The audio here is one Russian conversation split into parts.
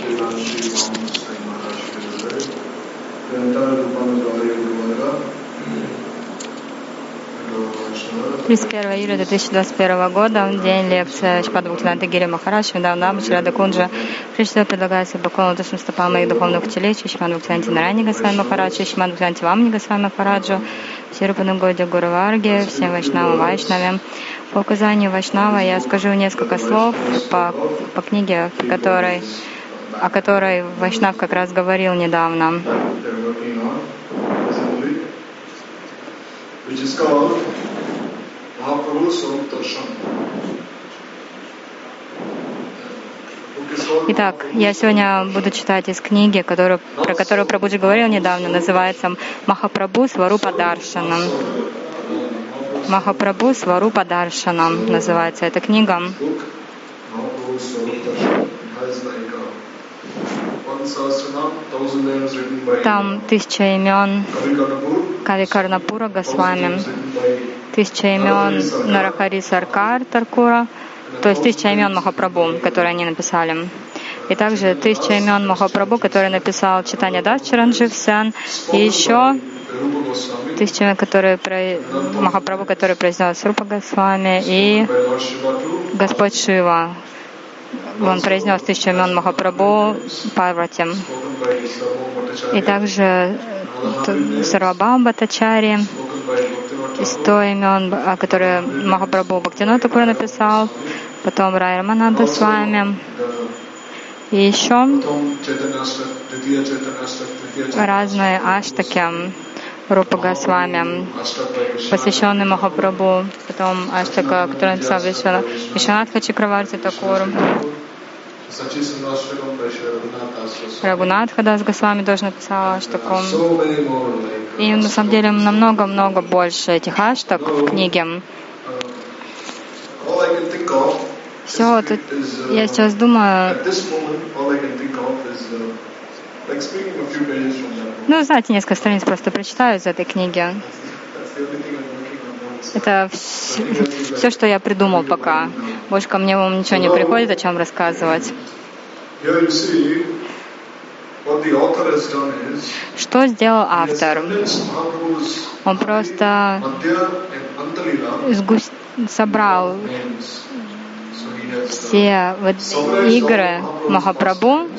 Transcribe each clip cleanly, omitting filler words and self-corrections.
31 июля 2021 года, день лекции Шрипада Бхактивинода Гири Махарадж, Вриндаванам, Шрада Кунджа. Прежде всего предлагается поклон душам стопам моих духовных учителей, Шримад Бхактивинода Нарайани Госвами Махараджу, Шримад Бхактивинода Вамани Госвами Махараджу, Шрипаду Годи Гуру Варге, всем Вайшнавам Вайшнавам. По указанию Вайшнава я скажу несколько слов по книге, о которой Вайшнав как раз говорил недавно. Итак, я сегодня буду читать из книги, про которую Прабхуджи говорил недавно, называется «Махапрабху Сварупа Даршанам». «Махапрабху Сварупа Даршанам» называется эта книга. Там 1000 имен Кави Карнапура Госвами, 1000 имен Нарахари Саркар Таркура, то есть 1000 имен Махапрабху, которые они написали. И также 1000 имен Махапрабху, которые написал Чайтанья Дас Чаранджив Сян, и еще 1000 имен, которые Махапрабху, который произнес Рупа Госвами, и Господь Шива. Он произнес 1000 имен Махапрабху Парвати. И также Сарвабхаума Бхаттачарья, 100 имен, которые Махапрабху Бхактивинода Тхакур написал, потом Рай Рамананда с вами, и еще разные аштаки Рупа Госвами, посвященные Махапрабху, потом аштака, который написал Вишванатха Чакраварти Тхакур, Рагунатха Дас Госвами тоже написал аштаку. И на самом деле намного-много больше этих аштак в книге. Все, вот я сейчас думаю, знаете, несколько страниц просто прочитаю из этой книги. Это все, что я придумал пока. Больше ко мне вам ничего не приходит, о чем рассказывать. Что сделал автор? Он просто собрал все игры Махапрабху,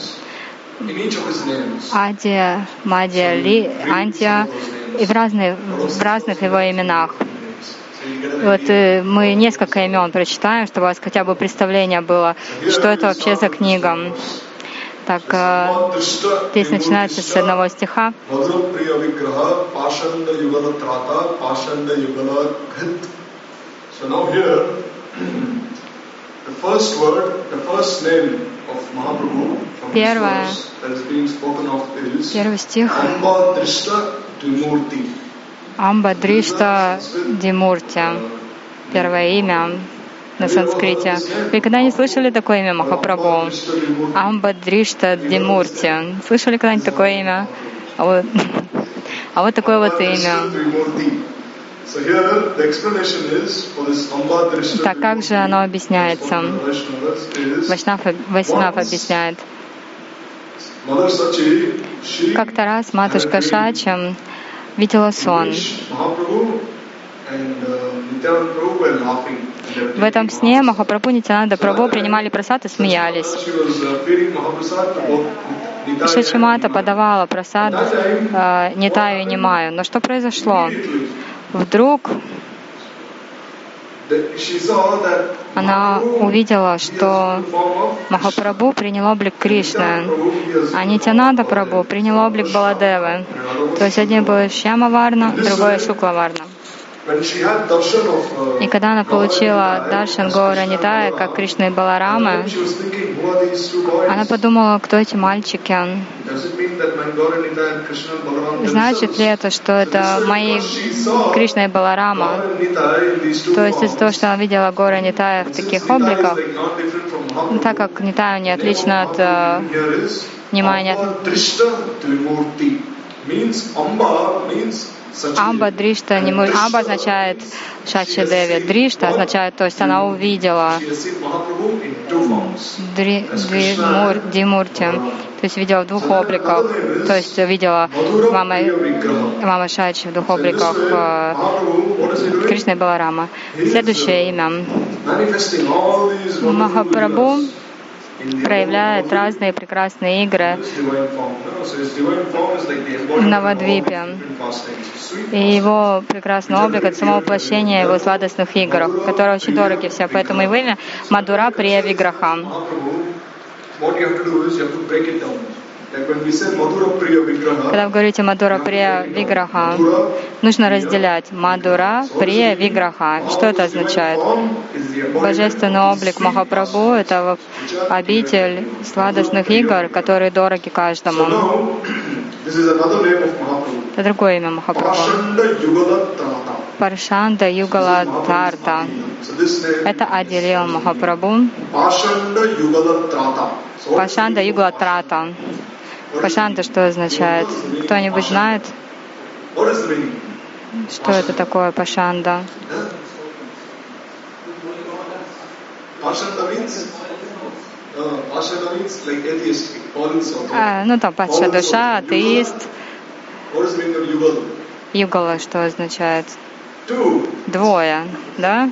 Адия, Мадья, Антия, и в разных его именах. Вот мы несколько имен прочитаем, чтобы у вас хотя бы представление было, что это вообще за книга. Так, здесь начинается с одного стиха. Первый стих. Амба Дришта Димурти. Первое имя на санскрите. Вы когда не слышали такое имя Махапрабху? Амба Дришта Димурти. Слышали когда-нибудь такое имя? А вот такое вот имя. Так как же оно объясняется? Вайшнав объясняет. Как-то раз матушка Шача видела сон. В этом сне Махапрабху и Нитьянанда Прабху принимали прасад и смеялись. Шачимата подавала прасад Нитаю и Нимаю. Но что произошло? Вдруг она увидела, что Махапрабху принял облик Кришны, а Нитьянанда Прабху принял облик Баладевы. То есть один был Шьяма Варна, другой Шукла Варна. И когда она получила даршан Гаура Нитая, как Кришны и Баларамы, она подумала, кто эти мальчики. Значит ли это, что это мои Кришна и Баларама? То есть из-за того, что она видела Гаура Нитая в таких обликах, так как Нитая не отлично от Нимая. Амба Дришта, Амба означает Шачи Деви. Дришта означает, то есть она увидела Димурти, то есть видела в двух обликах, то есть видела мама Шачи в двух обликах Кришны и Баларама. Следующее имя. Махапрабху проявляет разные прекрасные игры в Навадвипе. И его прекрасный облик — это само воплощение его сладостных игр, которые очень дороги все. Поэтому его имя Мадура Прия Виграха. Когда вы говорите Мадура Прия Виграха, нужно разделять Мадура Прия Виграха. Что это означает? Божественный облик Махапрабху — это обитель сладостных игр, которые дороги каждому. Это другое имя Махапрабху. Паршанда Югала Тарта. Это отделил Махапрабху. Пашанда Югала Трата. Пашанда что означает? Кто-нибудь знает? Что это такое Пашанда? Там падшая душа, атеист. Югала что означает? Двое, да?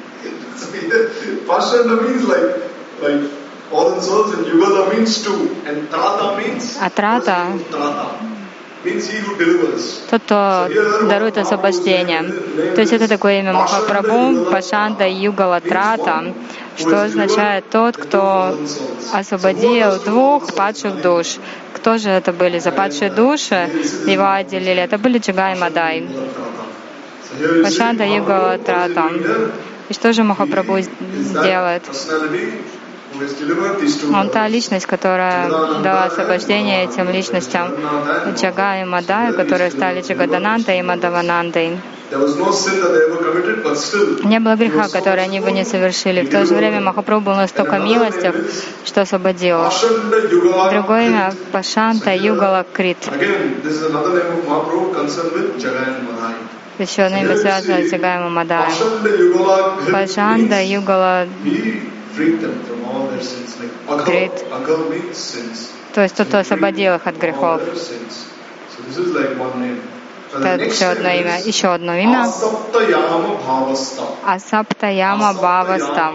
А трата тот, кто дарует освобождение. То есть это такое имя Махапрабху, Пашанда Югала Трата, что означает тот, кто освободил двух падших душ. Кто же это были за падшие души? Его отделили. Это были Джагай и Мадай. Пашанда Югала Трата. И что же Махапрабху делает? Он та личность, которая дала освобождение этим личностям Джага и Мадая, которые стали Джагаданандой и Мадаванандой. Не было греха, который они бы не совершили. В то же время Махапрабху был настолько милостив, что освободил. Другое имя — Пашанта Югала Крит. Еще одно имя связано с Джагаем и Мадаем. Пашанда Югала Крит. То есть тот, кто освободил их от грехов. Это еще одно имя. Еще одно имя. Асаптаяма Бхаваста.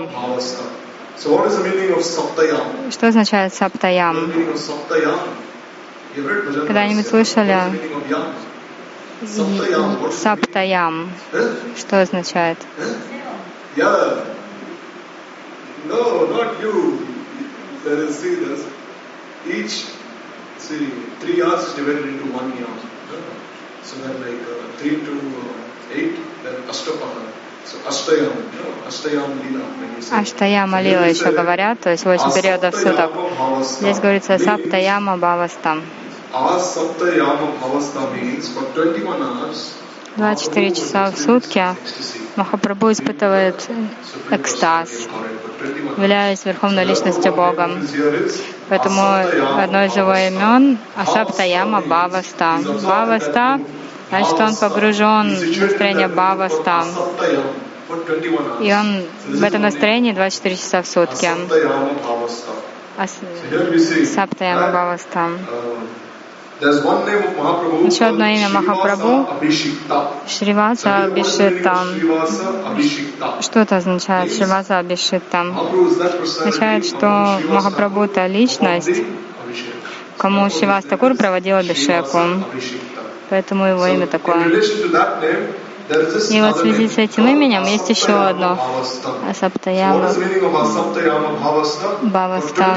Что означает Саптаям? Когда-нибудь слышали? Саптаям. Что означает? No, not you. Let us see this. Each, 3 yards is divided into 1 yard. So then 3 to 8, then Ashtapana. So Ashtayam, Ashtayam Lila. Аштаяма Лила еще говорят, то есть 8 периодов суток. Здесь говорится Саптаяма Бхаваста. 24 часа в сутки Махапрабху испытывает экстаз, являясь Верховной Личностью Бога. Поэтому одно из его имен — Асаптаяма Бхаваста. Бхаваста, значит, он погружен в настроение Бхаваста. И он в этом настроении 24 часа в сутки. Саптаяма Бхаваста. Еще одно имя Махапрабху — Шриваса Абхишита. Что это означает, Шриваса Абхишита? Означает, что Махапрабху — это личность, кому Шривас Такур проводил абхишеку. Поэтому его имя такое. И вот в связи с этим именем есть еще одно — Асаптаяма Бхаваста.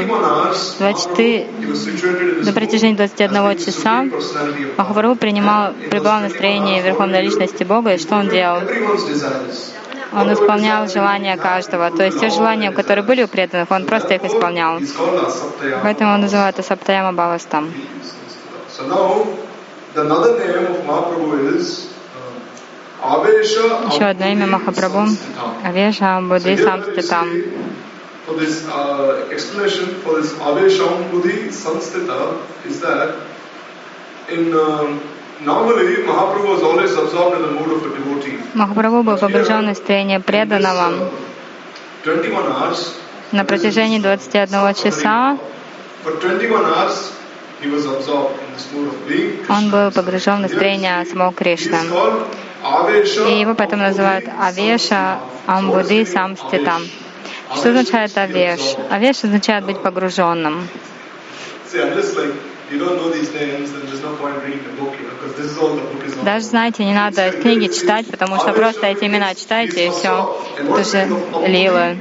На протяжении 21 часа Махапрабху пребывал в настроении Верховной Личности Бога. И что он делал? Он исполнял желания каждого. То есть те желания, которые были у преданных, он просто их исполнял. Поэтому он называет Асаптаяма Бхаваста. Еще одно имя Махапрабху — Авеша Будхи Самститам. Explanation for this Avesham Buddhi Samstita is that in Normally, Mahaprabhu was always absorbed in the mood of a devotee. Махапрабху был погружен в настроение преданного. 21 hours. На протяжении 21 часа For 21 hours, he was absorbed in this mood of being Krishna. он был погружен в настроение самого Кришны. И его поэтому называют Авеша Амбуди Самститам. Что означает Авеш? Авеш означает быть погруженным. Даже, знаете, не надо книги читать, потому что просто эти имена читайте, и все. Это же лилы.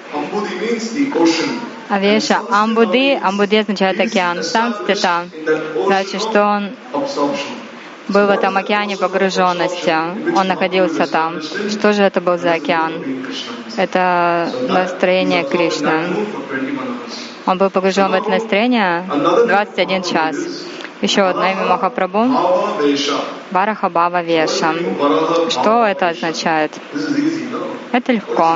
Авеша Амбуди. Амбуди означает океан. Самстита. Значит, что он был в этом океане погруженности. Он находился там. Что же это был за океан? Это настроение Кришны. Он был погружен в это настроение 21 час. Еще одно имя Махапрабху — Вараха Бхава Веша. Что это означает? Это легко.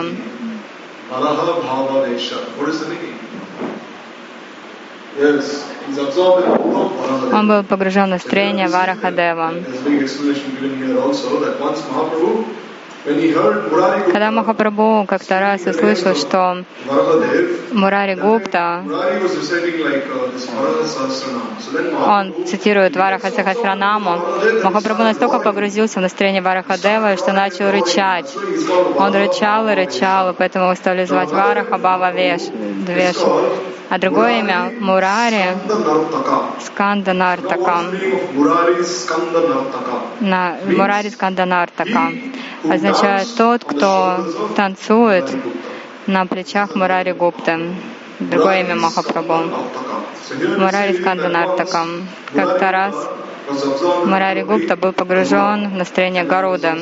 Он был погружен в настроение Варахадева. Когда Махапрабху как-то раз услышал, что Мурари Гупта, он цитирует Вараха Сахасранаму, Махапрабху настолько погрузился в настроение Варахадева, что начал рычать. Он рычал и рычал, и поэтому его стали звать Вараха Бхава Веша. А другое имя — Мурари Сканда Нартака. Мурари Сканда Нартака означает тот, кто танцует на плечах Мурари Гупты. Другое имя Махапрабху. Мурари Сканда Нартака. Как-то раз Мурари Гупта был погружен в настроение Гаруда.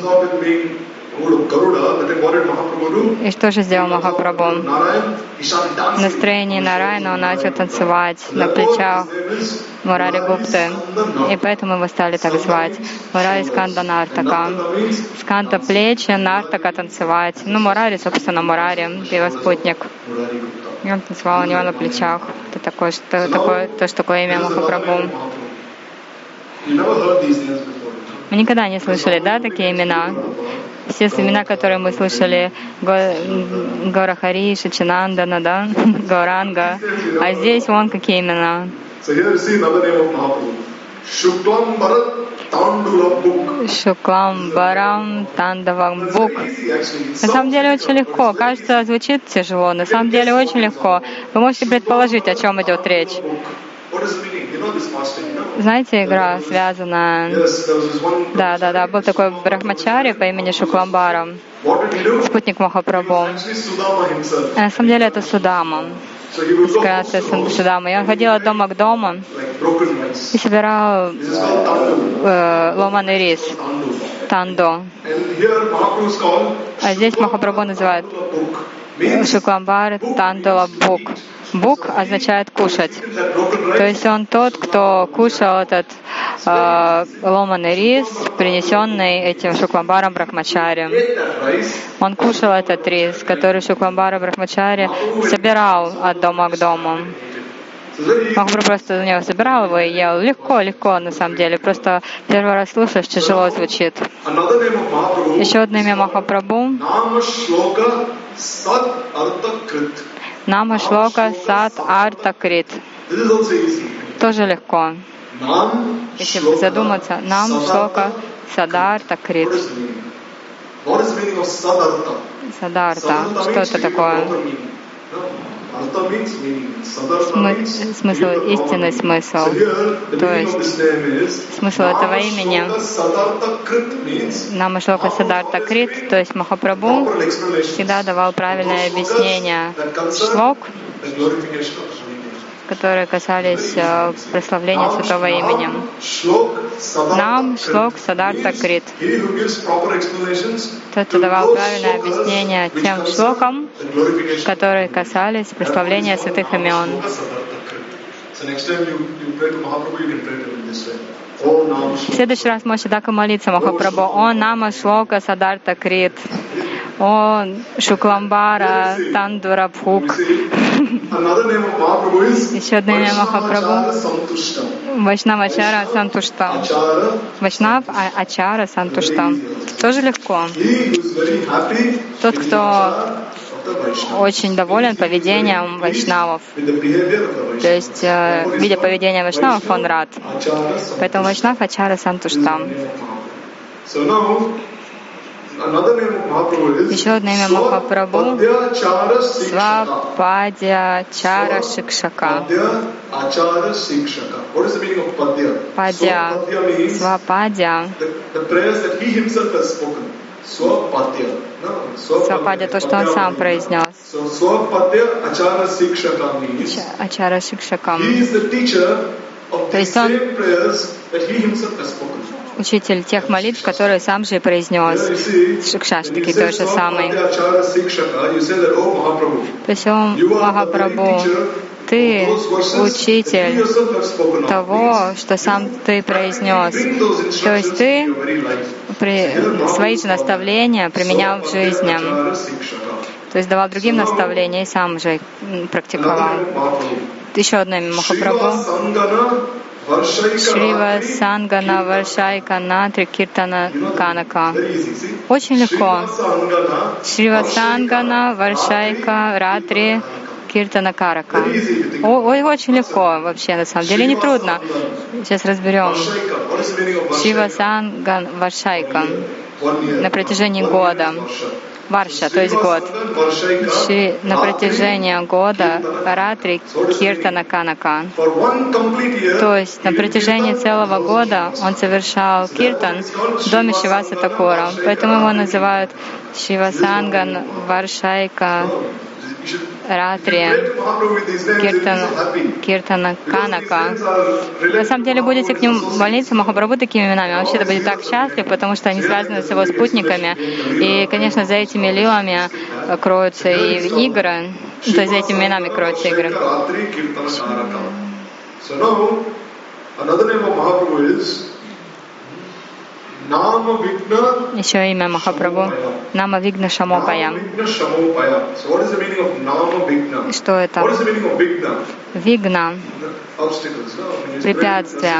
И что же сделал Махапрабху? В настроении Нараяна он начал танцевать на плечах Мурари Гупты. И поэтому его стали так звать. Мурари Сканда Нартака. Сканда плечи, Нартака танцевать. Ну, Мурари, собственно, Мурари, его спутник. И он танцевал у него на плечах. Это такое имя Махапрабху. Мы никогда не слышали, да, такие имена? Все имена, которые мы слышали, Гаурахари, Шачинандана, да, Гауранга. А здесь вон какие имена. Шуклам Барам Тандавам Бук. На самом деле очень легко. Кажется, звучит тяжело. На самом деле очень легко. Вы можете предположить, о чем идет речь. Знаете, игра связана... Да, был такой брахмачари по имени Шукламбара, спутник Махапрабху. На самом деле это Судама. Судама. И он ходил от дома к дому и собирал ломаный рис, тандо. А здесь Махапрабху называют Шукламбар Тандала Бук. Бук означает кушать. То есть он тот, кто кушал этот ломаный рис, принесенный этим Шукламбаром Брахмачари. Он кушал этот рис, который Шукламбара Брахмачари собирал от дома к дому. Махапрабху просто у него собирал его и ел. Легко, на самом деле. Просто первый раз слушаешь, тяжело звучит. Еще одно имя Махапрабху — Нама Шлока Сат Арта Крит. Тоже легко. Если задуматься, Нам Шлока Садарта Крит. Садарта. Что это такое? Смысл, истинный смысл. То есть смысл этого имени Нама Шлока Садарта Крит, то есть Махапрабху всегда давал правильное объяснение шлок, которые касались прославления святого имени. Нам Шлок Садарта Крит. Тот, кто давал правильное объяснение тем шлокам, которые касались прославления святых имен. В следующий раз можете так и молиться Махапрабху. О Нама Шлока Садарта Крит. О, Шукламбара, Тандура Бхук. Еще одно имя Махапрабху — Вайшнавачара Сантушта. Вайшнав Ачара Сантушта. Тоже легко. Тот, кто очень доволен поведением вайшнавов. То есть, видя поведение вайшнавов, он рад. Поэтому Вайшнав Ачара Сантушта. Еще одно имя Махапрабху — Свападья Чара Шикшака. Падья, Свападья. Свападья — то, что он сам произнес. Ачара Шикшакам. То есть он учитель тех молитв, которые сам же и произнес. Шикшаштаки тот же самый. То есть он, Махапрабху, ты учитель того, что сам ты произнес. То есть ты свои же наставления применял в жизни. То есть давал другим наставления и сам же практиковал. Еще одно имя Махапрабху. Шрива Сангана Варшайка Натри Киртана Канака. Очень легко. Шрива Сангана Варшайка Ратри Киртана Карака. Ой, очень легко вообще, на самом деле не трудно. Сейчас разберем. Шрива Санган Варшайка. На протяжении года. Варша, то есть год. На протяжении года Ратри Киртана Канака. То есть на протяжении целого года он совершал киртан в доме Шиваса Такура. Поэтому его называют Шивасанган Варшайка Ратри Киртана Канака. На самом деле будете к нему молиться, Махапрабху, такими именами. Он вообще-то будет так счастлив, потому что они связаны с его спутниками. И, конечно, за этими лилами кроются и игры. То есть за этими именами кроются игры. Еще имя Махапрабху — Нама Вигна Шамопая. Что это? Вигна — препятствия.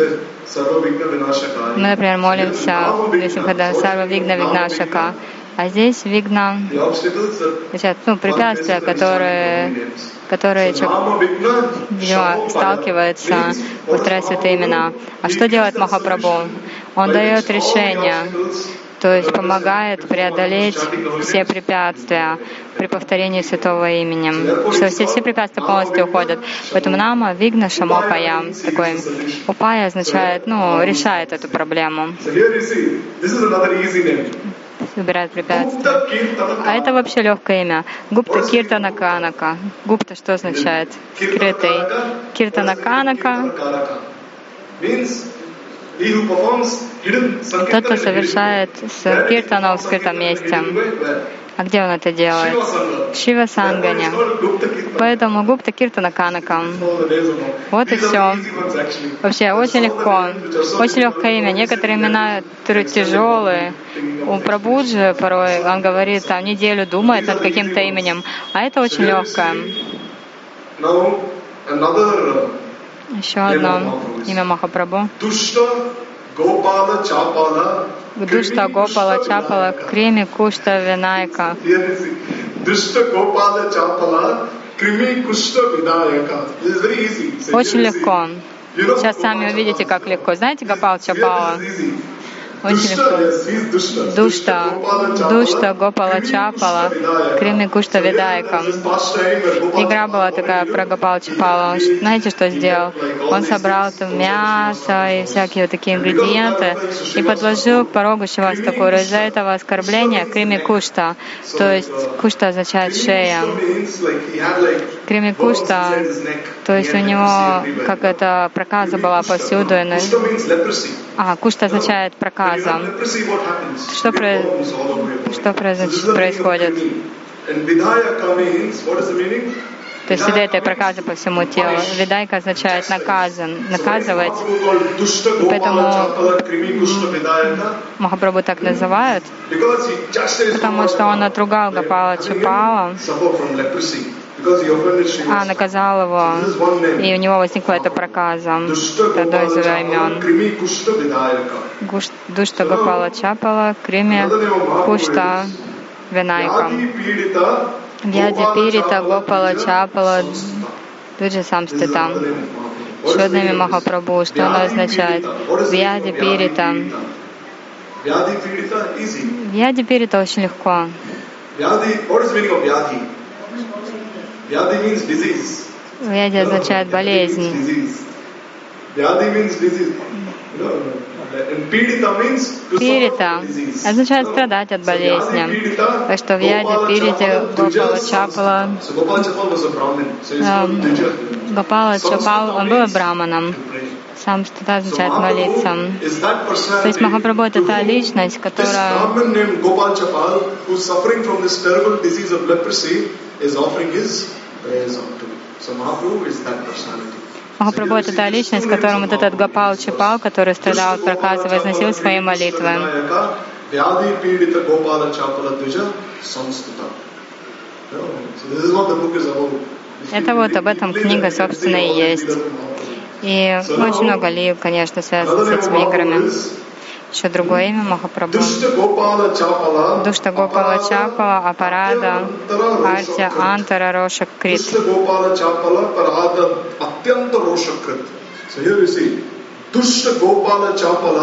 Мы, например, молимся, если когда Сарва Вигна Вигнашака, а здесь Вигна, препятствия, которые человек, видимо, сталкивается, повторяя святые имена. А что делает Махапрабху? Он дает решение, то есть помогает преодолеть все препятствия при повторении святого имени, что все препятствия полностью уходят. Поэтому Нама Вигна Шамопая, такой Упая означает, решает эту проблему. Убирает препятствия. А это вообще легкое имя. Гупта Киртана Канака. Гупта что означает? Скрытый. Киртана Канака. Тот, кто совершает киртану в скрытом месте. А где он это делает? В Шива Сангане. Поэтому Гупта Киртана Канака. Вот и все. Вообще очень легко. Очень легкое имя. Некоторые имена тяжелые. У Прабхуджи порой он говорит, там неделю думает над каким-то именем. А это очень легкое. Еще одно имя Махапрабху. Душта Гопала Чапала Крими Кушта Винайка. Очень легко. Сейчас сами увидите, как легко. Знаете Гопал Чапала? Очень легко. Душта Гопала Чапала Крими Кушта Видайка. Игра была такая про Гопала Чапала. Знаете, что сделал? Он собрал там мясо и всякие вот такие ингредиенты и подложил к порогу Шиваса Такура. Из-за этого оскорбления Крими Кушта, то есть Кушта означает шея. Крими Кушта, то есть у него как это проказа была повсюду. Кушта означает проказа. Что происходит? То есть всегда этой проказы по всему телу. Видайка означает наказывать. И поэтому Махапрабху так называют, потому что он отругал Гопала Чапала, наказал его, и у него возникла эта проказа. Это одно из его имен. Душта Гопала Чапала, Крими Кушта Винайка. Вьяди Пирита Гопала Чапала Дуджа Самстита. Шоднами Махапрабху. Что оно означает? Вьяди Пирита. Вьяди Пирита очень легко. Вьяди означает болезнь. Пирита означает страдать от болезни. Так что Вьяди Пирита Гопала Чапала. Гопала Чапал, он был браманом. Сам стата означает молиться. То есть Махапрабху — это та личность, которая Махапрабху — это та личность, которому вот этот Гопал Чапал, который страдал от проказа, возносил свои молитвы. Это вот об этом книга, собственно, и есть. И очень много лил, конечно, связано с этими играми. Еще другое имя Махапрабху. Душта Гопала Чапала, Апарада, Артя, Антара, Рошак, Крит. Душта Гопала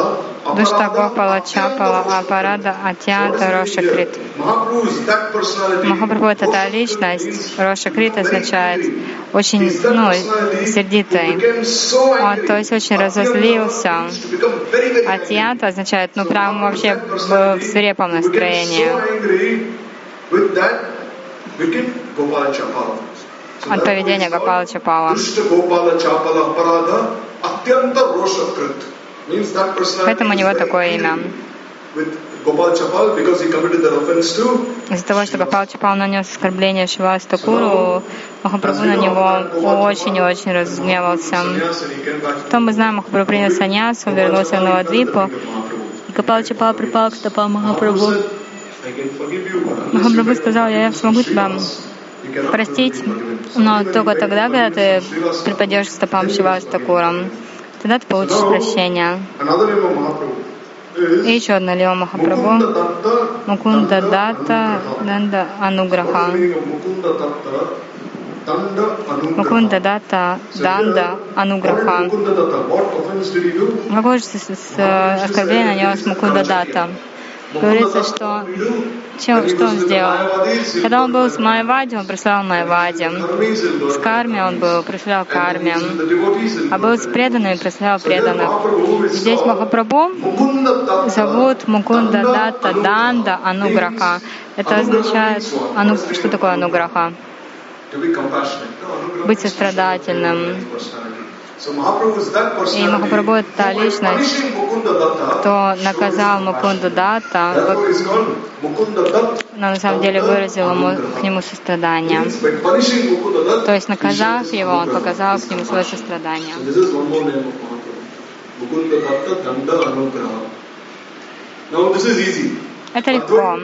Чапала, Апарада, Атьянта, Роша Крит. Махапрабху — это та личность. Роша Крит означает очень, сердитый. Он, то есть, очень разозлился. Атьянта означает, прям вообще в свирепом настроении. От поведения Гопала Чапала. Поэтому у него такое имя. Из-за того, что Гопал Чапал нанес оскорбление Шривас Такуру, Махапрабху на него очень и очень разгневался. Потом мы знаем, Махапрабху принял саньясу, вернулся в Навадвипу. Гопал Чапал припал к стопам Махапрабху. Махапрабху сказал: я смогу тебя простить, но только тогда, когда ты припадешь к стопам Шривас Такурам. Тогда ты получишь прощение. И еще одна лила Махапрабху. Мукунда Датта Данда Ануграха. Мукунда Датта Данда Ануграха. Какое же оскорбление нанес Мукунда Датта? Говорится, что он сделал? Когда он был с Майявади, он прославлял Майявади. С Карми он был, прославлял Карми. А был с преданными, прославлял преданных. Здесь Махапрабху зовут Мукунда Датта Данда Ануграха. Это означает, что такое Ануграха? Быть сострадательным. И Махапрабху — это та личность, кто наказал Мукунду Датта, но на самом деле выразил к нему сострадание. То есть, наказав его, он показал к нему свое сострадание. Это легко.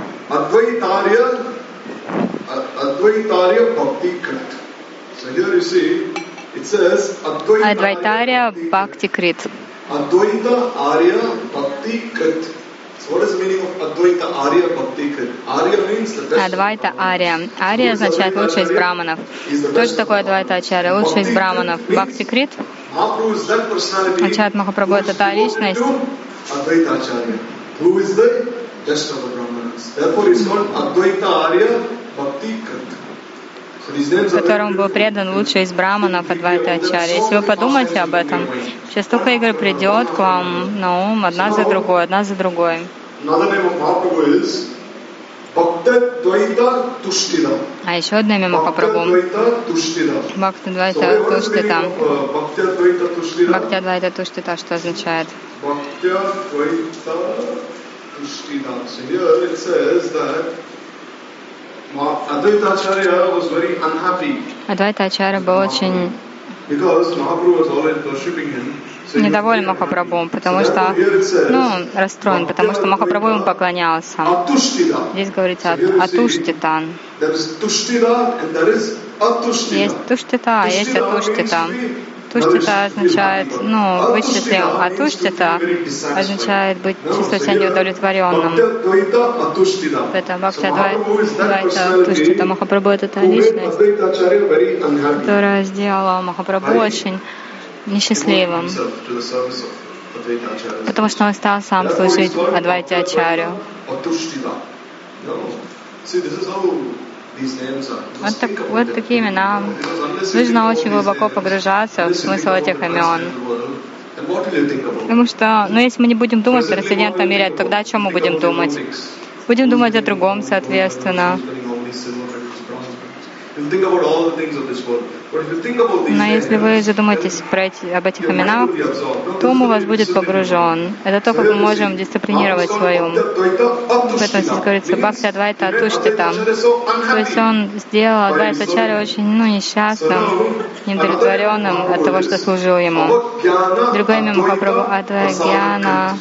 Адвайтария Бхакти Крит. Advaita Arya Bhakti Krit. So what is the meaning of Advaita Arya Bhakti Krit? Arya means the best. Адвайта Ария. Ария означает лучший из браманов. Что же такое Адвайта Ачарья? Лучший из браманов. Бхакти Крит означает Махапрабху — это та личность, Advaita Acharya, who is the best of the Brahmanas. Therefore, he is called Advaita Arya Bhakti Krit. которому был предан лучший из браманов Адвайта Ачарья. Если вы подумаете об этом, сейчас столько игр придет к вам на ум, одна за другой, одна за другой. А еще одно имя Махапрабху — Бхактадвайта Туштита. Бхактадвайта Туштита что означает? Advaita Acharya was very unhappy Адвайта Ачарья был очень because Mahaprabhu was always worshipping him. недоволен Махапрабху, потому что, расстроен, потому что Махапрабху ему поклонялся. Здесь говорится Атуштитан. Есть Туштита, а есть Атуштита. Туштита означает, вычислим, а Туштита означает чувствовать себя неудовлетворенным. Это Бхакти Адвайта Туштита. Махапрабху — это та личность, которая сделала Махапрабху очень несчастливым, потому что он стал сам служить Адвайте Ачарью. Вот такие имена. Нужно очень глубоко погружаться в смысл этих имен. Потому что, если мы не будем думать о трансцендентном мире, тогда о чем мы будем думать? Будем думать о другом, соответственно. Но если вы задумаетесь об этих именах, то ум у вас будет погружен. Это то, как мы можем дисциплинировать свой ум. Поэтому здесь говорится Бхакти Адвайта Атуштита. То есть он сделал Адвайта Ачарью очень несчастным, неудовлетворенным от того, что служил ему. Другое имя Махапрабху — Адвайгьяна.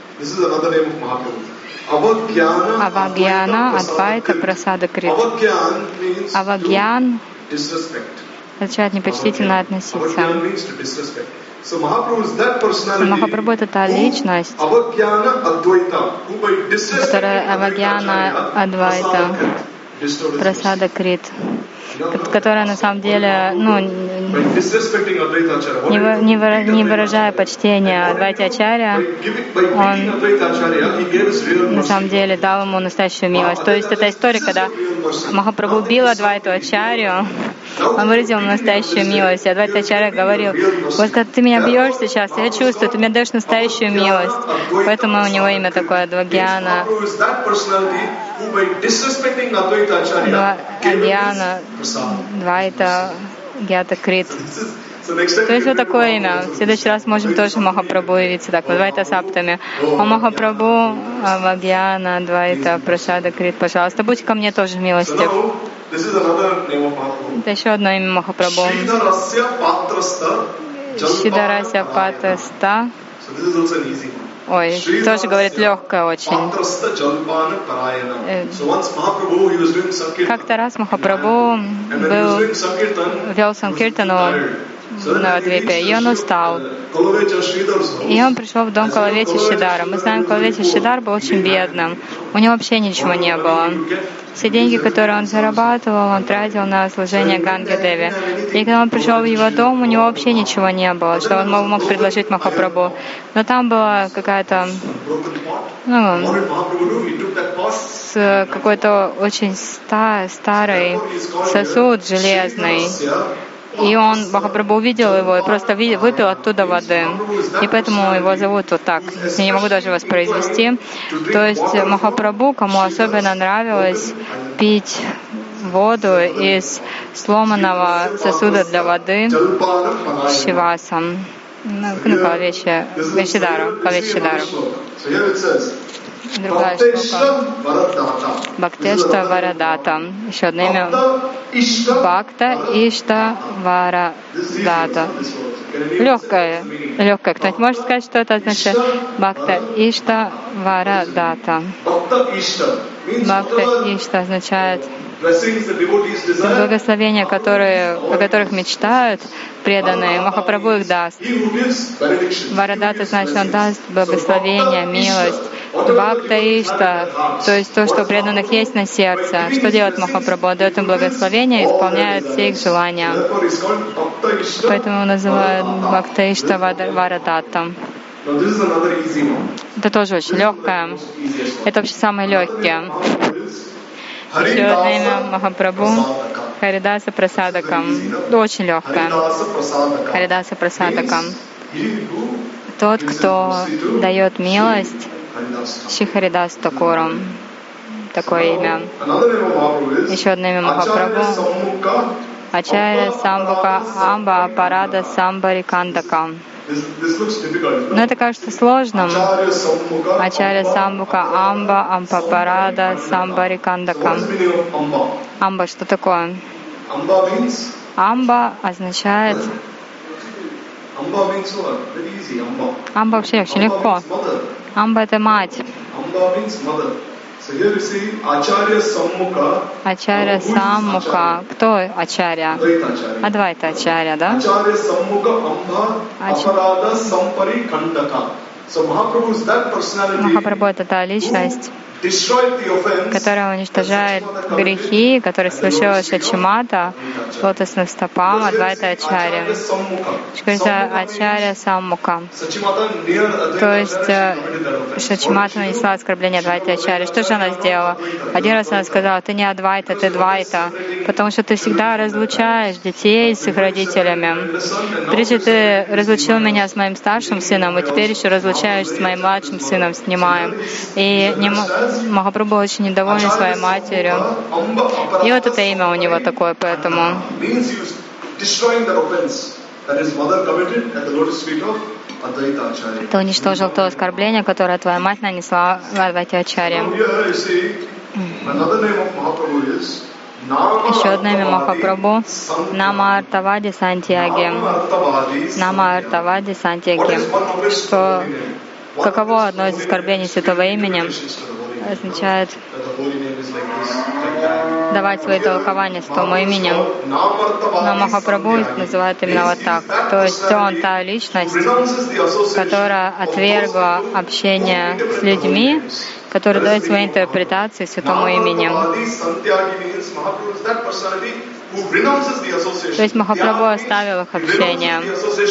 Авагьяна, Адвайта, Прасада Крит. Авагьян означает непочтительно относиться. Махапрабху — это та личность, которая Авагьяна Адвайта, Прасада Крит, которая на самом деле, не выражая почтения Адвайте Ачарья, он на самом деле дал ему настоящую милость. То есть это история, когда Махапрабху бил Адвайту Ачарью, он выразил настоящую милость. И Адвайта Ачарья говорил: вот когда ты меня бьешь сейчас, я чувствую, ты мне даешь настоящую милость. Поэтому у него имя такое Адвагьяна. Адвайта, Двайта, Гьята Крит. То есть вот такое имя. В следующий раз можем тоже Махапрабху явиться так, Двайта Саптами. О Махапрабху, Авагьяна, Двайта, Прасада Крит, пожалуйста, будь ко мне тоже милостив. Это еще одно имя Махапрабху. Шидарася Патаста. Ой, тоже говорит легкое очень. Как-то раз Махапрабху вел Санкиртану на Двипе, и он устал. И он пришел в дом Калавети Шидара. Мы знаем, Калавети Шидар был очень бедным. У него вообще ничего не было. Все деньги, которые он зарабатывал, он тратил на служение Ганге Деви. И когда он пришел в его дом, у него вообще ничего не было, что он мог предложить Махапрабху. Но там была какая-то, какой-то очень старый сосуд железный. И Махапрабху увидел его и просто выпил оттуда воды. И поэтому его зовут вот так. Я не могу даже воспроизвести. То есть Махапрабху, кому особенно нравилось пить воду из сломанного сосуда для воды Шивасам. Калавети Шидара. Другая штука. Бхактешта Варадата. Еще одно имя. Бхакта Ишта Варадата. Легкое. Кто-нибудь может сказать, что это значит? Бхакта Ишта Варадата. Бхакта Ишта означает благословения, о которых мечтают преданные. Махапрабху их даст. Варадата значит, он даст благословение, милость. Бхакта Ишта, то есть то, что у преданных есть на сердце. Что делает Махапрабху? Он дает им благословение и исполняет все их желания. Поэтому называют Бхакта Ишта Варадата. Это тоже очень легкое. Это вообще самое легкое. Еще одно имя Махапрабху — Харидаса Прасадакам. Очень легкое. Харидаса Прасадакам. Тот, кто дает милость, Шри-Харидас Такурам. Такое имя. Еще одно имя Махапрабху — Ачарья Самбука Амба Апарада Самбари Кандака. Но это кажется сложным. Ачарья Саммука, Амба, Ампапарада, Самбари Кандака. Амба что такое? Амба означает... Амба вообще очень легко. Амба — это мать. Ачарья Саммука. Кто Ачарья? Адвайта Ачарья, да? Махапрабху — это та личность, которая уничтожает грехи, которые совершила Шачимата, лотосным стопам Адвайта Ачарья. Говорится Ачарья Саммука. То есть Шачимата нанесла оскорбление Адвайта Ачарьи. Что же она сделала? Один раз она сказала: ты не Адвайта, ты Двайта, потому что ты всегда разлучаешь детей с их родителями. Прежде ты разлучил меня с моим старшим сыном, и теперь еще разлучаешь с моим младшим сыном, снимаем. И Махапрабху очень недоволен своей матерью. И вот это имя у него такое, поэтому. Ты уничтожил то оскорбление, которое твоя мать нанесла Адвайте Ачарье. Еще одно имя Махапрабху — Нама Артавади Сантьяги. Нама Артавади Сантьяги. Что каково одно из оскорблений святого имени означает давать свои толкования святому имени. Но Махапрабху называют именно вот так. То есть он та личность, которая отвергла общение с людьми, которые дают свои интерпретации святому имени. То есть Махапрабху оставил их общение.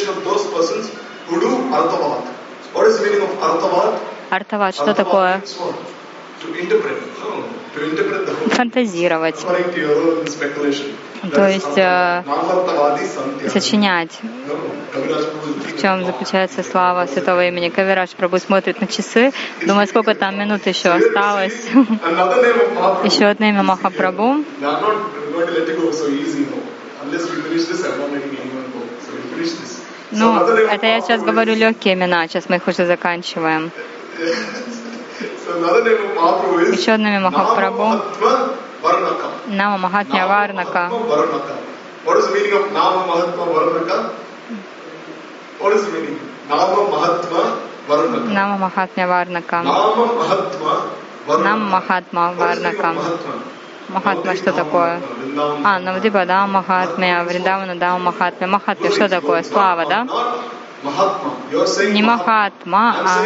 Артават, что такое? Фантазировать. То есть сочинять. В чем заключается слава святого имени. Кавирадж Прабху смотрит на часы, думает, сколько там минут еще осталось. Еще одно имя Махапрабху. Ну, это я сейчас говорю легкие имена, сейчас мы их уже заканчиваем. Еще одно имя Махапрабху. Нама Махатмя Варнака. Нама Махатмя Варнака. Нама Махатма Варнака. Махатма что такое? Навдипа Дама Махатмя, Вриндавана Дама Махатмя. Махатмя что такое? Слава, да? Не Махатма, а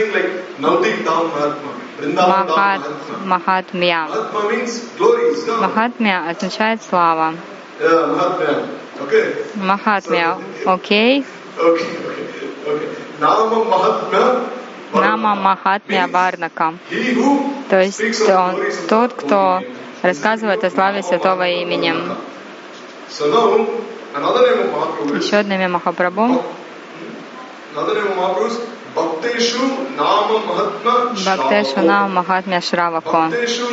Махатмя. Махатмя означает слава. Махатмя, окей? Нама Махатмя Варнака. То есть он тот, кто рассказывает о славе святого имени. Еще одно имя Махапрабху. Бхактешу Нама Махатмя Шравако.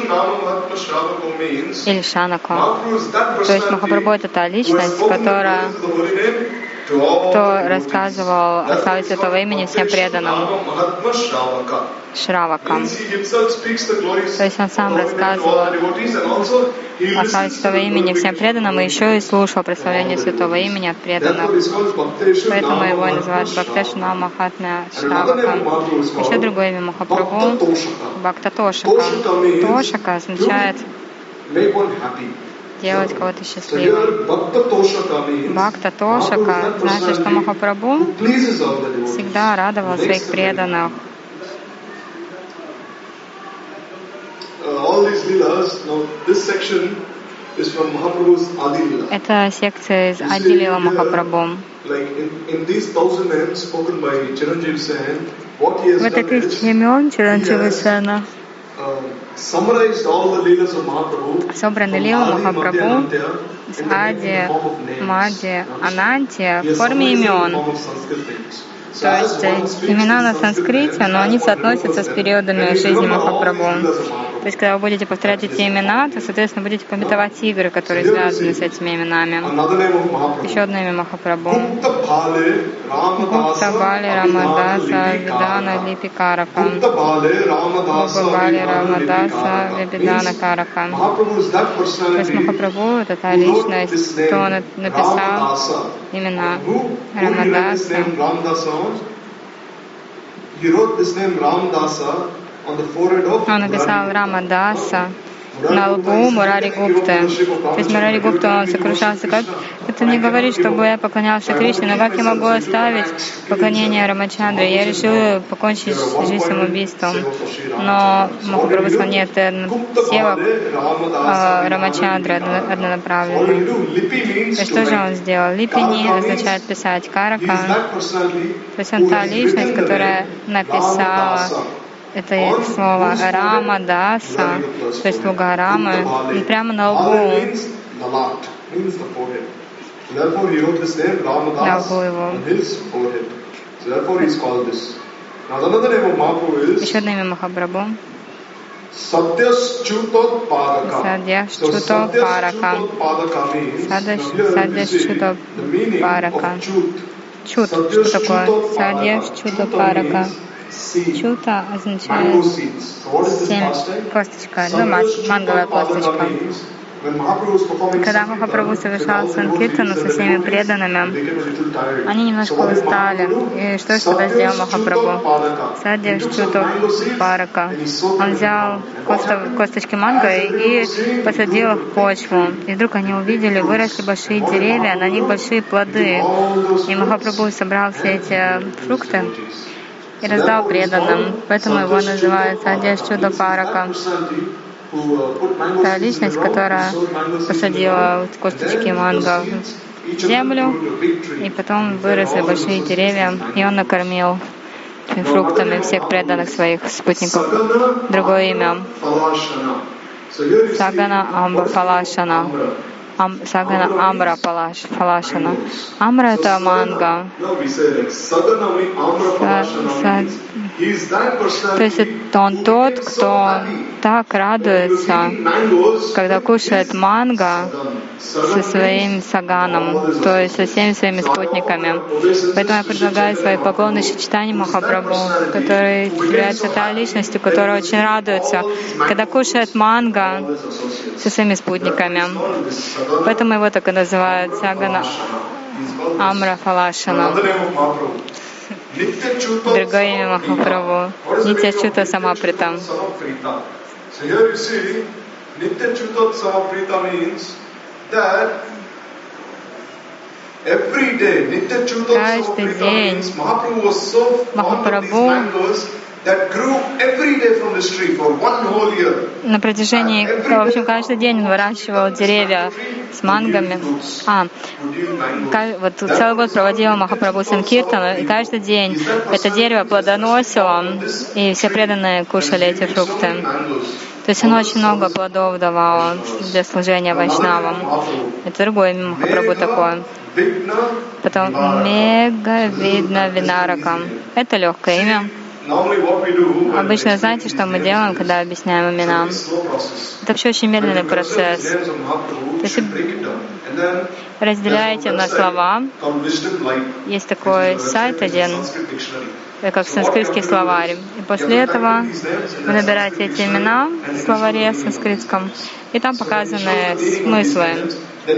Или Шанако. То есть Махапрабху — это та личность, которая, кто рассказывал о славе святого имени всем преданным. Шравака. То есть он сам рассказывал о славе святого имени всем преданным и еще и слушал прославление святого имени от преданных. Поэтому его и называют Бхактешу Нама Махатмя Шравака. Еще другое имя Махапрабху — Бхакта Тошака. Тошака означает делать кого-то счастливым. Бхакта Тошака значит, что Махапрабху всегда радовал своих преданных. Это секция из Ади Лила Махапрабху. В этой тысяче имен Чиранджива Сена собраны лилы Махапрабху с Ади, Мади, Ананти в форме имен. То есть имена на санскрите, но они соотносятся с периодами жизни Махапрабху. То есть, когда вы будете повторять эти имена, то, соответственно, будете памятовать игры, которые связаны с этими именами. Еще одно имя Махапрабху. Гупта Бали Рамадаса Видана Липикарака. Гупта Бали Рамадаса Видана Карака. То есть Махапрабху — это та личность, кто написал имена Рамадаса. Он написал Рамадаса на лбу Мурари Гупты. То есть Мурари Гупта, он сокрушался, как это мне говорит, чтобы я поклонялся Кришне, но как я могу оставить поклонение Рамачандре? Я решил покончить жизнь самоубийством. Но Махапрабху сказал, нет, севак Рамачандра однонаправленный. И что же он сделал? Липини означает писать, Карака. То есть он та личность, которая написала это слово Рамадаса, то есть слуга Рамы, и прямо на лбу. На лбу его. Еще одно имя Махапрабху. Садьяшчутопарака. Садьяшчутопарака. Чут. Что такое? Садьяшчутопарака. Чута означает 7 косточка, манговая косточка. Когда Махапрабху совершал санкиртану со всеми преданными, они немножко устали. И что же тогда сделал Махапрабху? Садья Чуту Парака. Он взял косточки манго и посадил их в почву. И вдруг они увидели, выросли большие деревья, на них большие плоды. И Махапрабху собрал все эти фрукты и раздал преданным. Поэтому его называют Садья Чуда Парака. Та личность, которая посадила косточки манго в землю, и потом выросли большие деревья, и он накормил фруктами всех преданных своих спутников. Другое имя Сагана Амбра Палашана. Сагана Амбра Палашана. Амбра — это манго. То есть он тот, кто так радуется, когда кушает манго со своим саганом, то есть со всеми своими спутниками. Поэтому я предлагаю свои поклоны Чайтанье Махапрабху, который является та личностью, которая очень радуется, когда кушает манго со своими спутниками. Поэтому его так и называют Сагана Амра Фалашана. Другое имя Махапрабху — Нитья Чута Самаприта. Каждый день Махапрабху на протяжении, в общем, каждый день он выращивал деревья с мангами. Вот целый год проводил Махапрабху Санкиртану, и каждый день это дерево плодоносило, и все преданные кушали эти фрукты. То есть оно очень много плодов давало для служения вайшнавам. Это другое имя Махапрабху такое. Потом Мега Видна Винарака. Это легкое имя. Обычно знаете, что мы делаем, когда объясняем имена? Это вообще очень медленный процесс. То есть разделяете на слова. Есть такой сайт один, как санскритский словарь. И после этого вы набираете эти имена в словаре санскритском, и там показаны смыслы.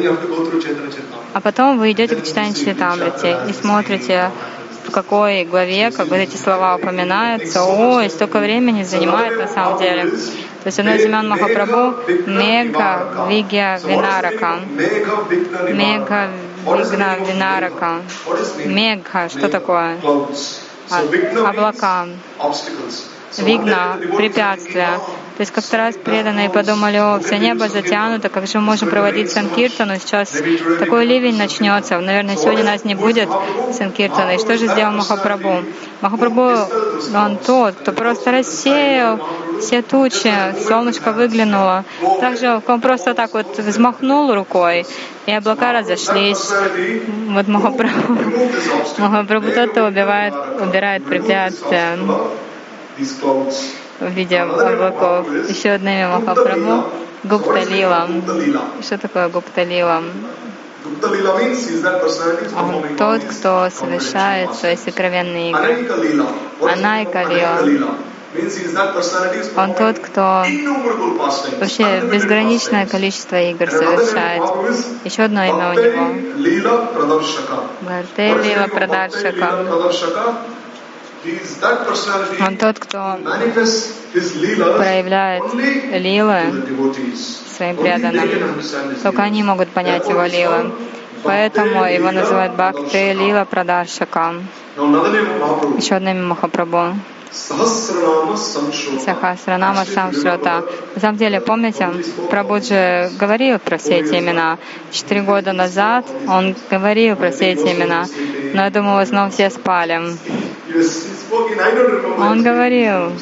А потом вы идете к читанию Чаритамрити и смотрите, в какой главе, как вот эти слова упоминаются. Ой, столько времени занимает на самом деле. То есть одно из имен Махапрабху — Мега Вигья Винарака. Мега Вигна Винарака. Мега, что такое? Облака. вигна, препятствия. То есть как-то раз преданные подумали: о, все небо затянуто, как же мы можем проводить санкиртану? Сейчас такой ливень начнется, наверное, сегодня нас не будет санкиртана. И что же сделал Махапрабху? Махапрабху, он тот, кто просто рассеял все тучи, солнышко выглянуло. Также он просто так вот взмахнул рукой, и облака разошлись. Вот Махапрабху тот, кто убирает препятствия в виде облаков. Еще одно имя Махапрабху — Гупта Лила. Что такое Гупта Лила? Он тот, кто совершает свои сокровенные игры. Анайка Лила. Он тот, кто вообще безграничное количество игр совершает. Еще одно имя у него — Бхарте Лила Прадаршака. Он тот, кто проявляет лилы своим преданным. Только они могут понять его лилы. Поэтому его называют Бхакти Лила Прадаршака. Еще одно имя Махапрабху — Сахасранама Самшрота. На самом деле, помните, Прабху же говорил про все эти имена. 4 года назад он говорил про все эти имена. Но я думаю, в основном все спали. Он говорил.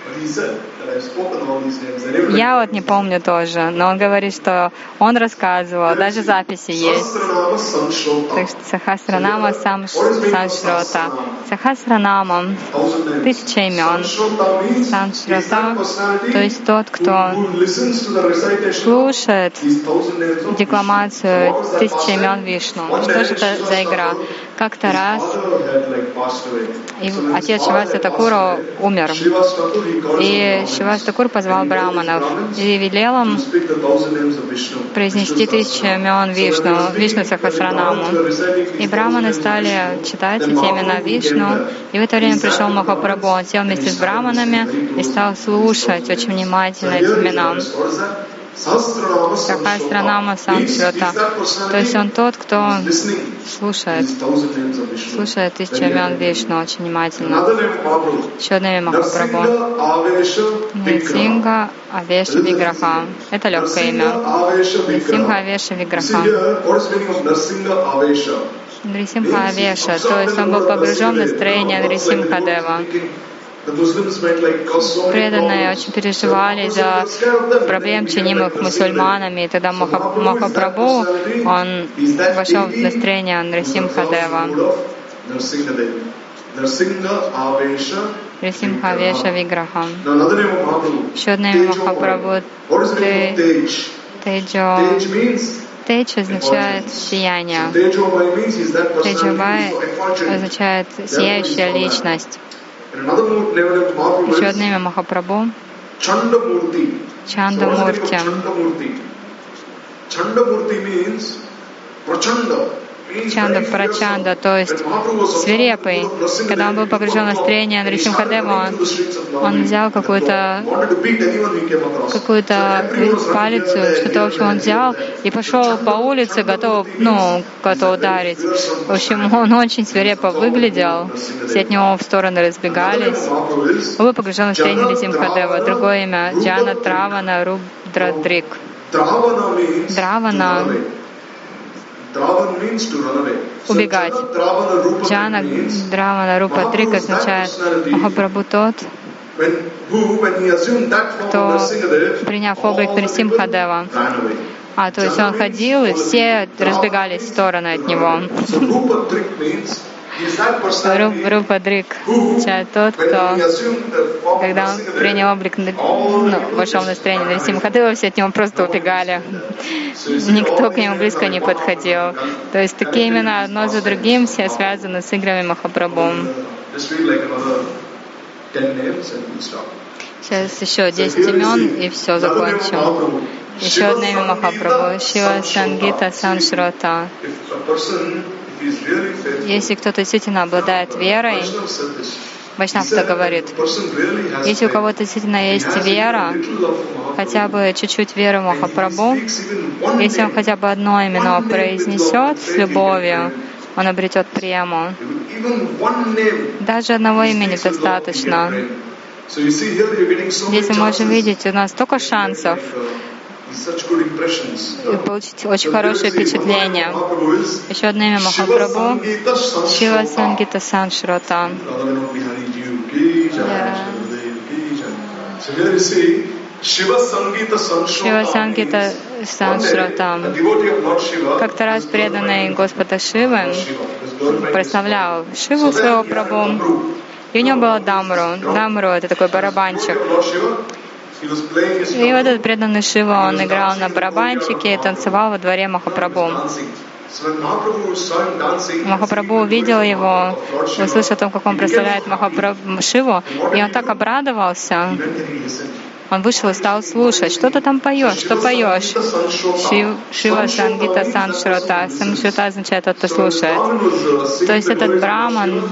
Я вот не помню тоже, но он говорит, что он рассказывал, даже записи есть. Так что Сахасранама Самшрота. Сахасранама — 1000 имен. Самшрота, то есть тот, кто слушает декламацию 1000 имен Вишну. Что же это за игра? Как-то раз отец Шриваса Такура умер. И Шриваса Такур позвал браманов и велел им произнести 1000 имен Вишну Сахасранаму. И браманы стали читать эти имена Вишну. И в это время пришел Махапрабху. Он сел вместе с браманами и стал слушать очень внимательно эти имена. Сахасранама Самшрота. То есть он тот, кто слушает 1000 имен Вишну очень внимательно. Еще одно имя Махапрабху — Нрисимха Авеша Виграха. Это легкое имя. Нрисимха Авеша Виграха. Нрисимха Авеша, то есть он был погружен в настроение Нрисимха Дева. Преданные очень переживали из-за проблем, чинимых мусульманами, и тогда Махапрабху, он вошел в настроение Нрисимха Дева. Нрисимха Авеша Виграха. Еще одно имя Махапрабху — Теджо. Тедж означает сияние. Теджабай означает сияющая личность. Еще одно имя Махапрабху — Чандамурти. Чанда, Прачанда, то есть свирепый. Когда он был погружен в настроение Нрисимхадева, он взял какую-то палицу, что-то, в общем, он взял и пошел по улице, готов кого-то ударить. В общем, он очень свирепо выглядел, все от него в стороны разбегались. Он был погружен в настроение Нрисимхадева. Другое имя — Джана Дравана Рудрадрик. Дравана — убегать. Джана Дравана Рупа Дрик означает Махапрабху тот, кто, приняв облик Нрисимхадева, то есть он ходил, и все разбегались в стороны от него. Рупа Дрик означает тот, кто, когда он принял облик, вошел в настроение Нрисимхадева, все от него просто убегали. Никто к нему близко не подходил. То есть такие имена одно за другим все связаны с играми Махапрабху. Сейчас еще 10 имен и все, закончим. Еще одно имя Махапрабху — Шива Сангита Саншрота. Если кто-то действительно обладает верой, Вайшнав говорит, если у кого-то действительно есть вера, хотя бы чуть-чуть веры в Махапрабху, если он хотя бы одно имя произнесет с любовью, он обретет прему. Даже одного имени достаточно. Здесь мы можем видеть, у нас столько шансов и получить очень хорошее впечатление. Еще одно имя Махапрабху — Шива Сангита Саншрота. Шива Сангита Саншрота. Как-то раз преданный Господа Шивы прославлял Шиву своего Прабху, и у него было дамру. Дамру — это такой барабанчик. И вот этот преданный Шива, он играл на барабанчике и танцевал во дворе Махапрабху. Махапрабху увидел его, услышал о том, как он прославляет Махапрабху Шиву, и он так обрадовался. Он вышел и стал слушать. Что ты там поешь? Что поешь? Шива Сангита Саншрота. Саншрота означает «тот, кто слушает». То есть этот браман,